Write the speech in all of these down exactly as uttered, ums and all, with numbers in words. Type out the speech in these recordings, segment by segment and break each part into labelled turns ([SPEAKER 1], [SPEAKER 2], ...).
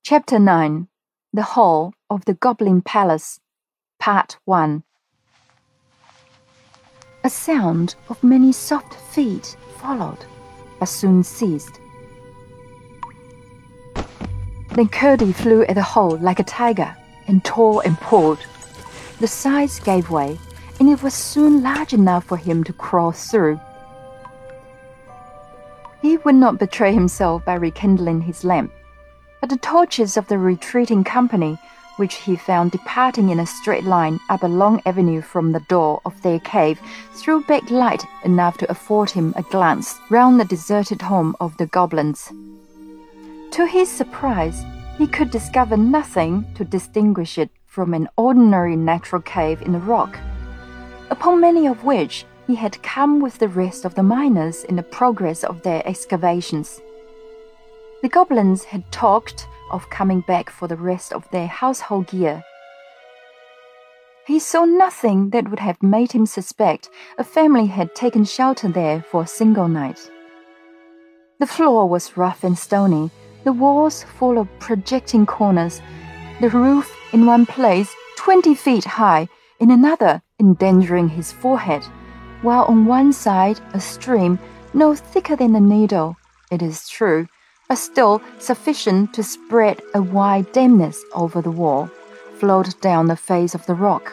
[SPEAKER 1] Chapter nine. The Hall of the Goblin Palace, Part one. A sound of many soft feet followed, but soon ceased. Then Curdie flew at the hole like a tiger, and tore and pulled. The sides gave way, and it was soon large enough for him to crawl through. He would not betray himself by rekindling his lamp, but the torches of the retreating company, which he found departing in a straight line up a long avenue from the door of their cave, threw back light enough to afford him a glance round the deserted home of the goblins. To his surprise, he could discover nothing to distinguish it from an ordinary natural cave in the rock, upon many of which he had come with the rest of the miners in the progress of their excavations. The goblins had talked of coming back for the rest of their household gear. He saw nothing that would have made him suspect a family had taken shelter there for a single night. The floor was rough and stony, the walls full of projecting corners, the roof in one place twenty feet high, in another endangering his forehead, while on one side a stream, no thicker than a needle, it is true, but still sufficient to spread a wide dampness over the wall, flowed down the face of the rock.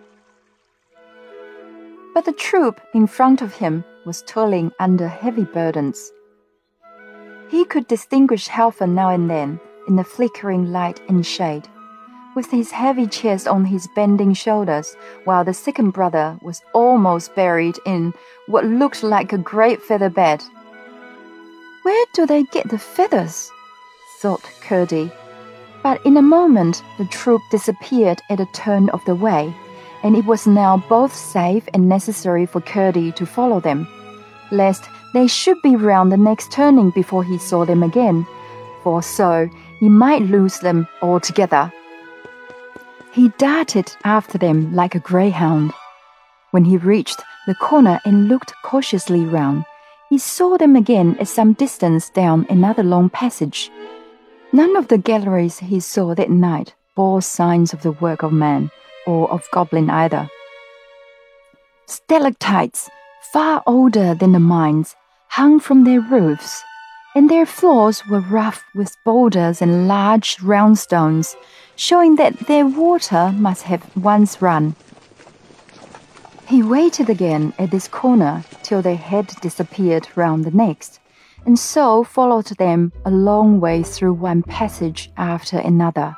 [SPEAKER 1] But the troop in front of him was toiling under heavy burdens. He could distinguish Halfan now and then in the flickering light and shade, with his heavy chest on his bending shoulders, while the second brother was almost buried in what looked like a great feather bed. "Where do they get the feathers?" thought Curdie. But in a moment the troop disappeared at a turn of the way, and it was now both safe and necessary for Curdie to follow them, lest they should be round the next turning before he saw them again, for so he might lose them altogether. He darted after them like a greyhound. When he reached the corner and looked cautiously round, he saw them again at some distance down another long passage. None of the galleries he saw that night bore signs of the work of man, or of goblin either. Stalactites, far older than the mines, hung from their roofs, and their floors were rough with boulders and large round stones, showing that their water must have once run. He waited again at this corner till they had disappeared round the next, and so followed them a long way through one passage after another.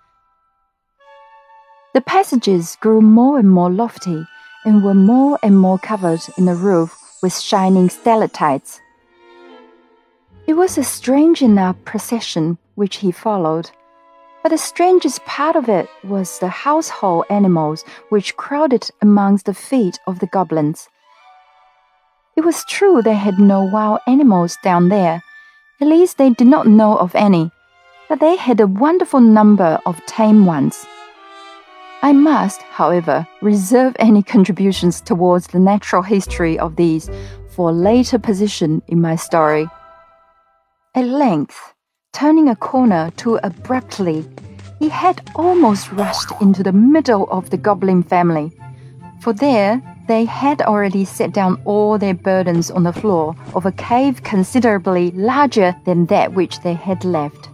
[SPEAKER 1] The passages grew more and more lofty, and were more and more covered in the roof with shining stalactites. It was a strange enough procession which he followed, but the strangest part of it was the household animals which crowded amongst the feet of the goblins. It was true they had no wild animals down there, at least they did not know of any, but they had a wonderful number of tame ones. I must, however, reserve any contributions towards the natural history of these for a later position in my story. At length, turning a corner too abruptly, he had almost rushed into the middle of the goblin family, for there they had already set down all their burdens on the floor of a cave considerably larger than that which they had left.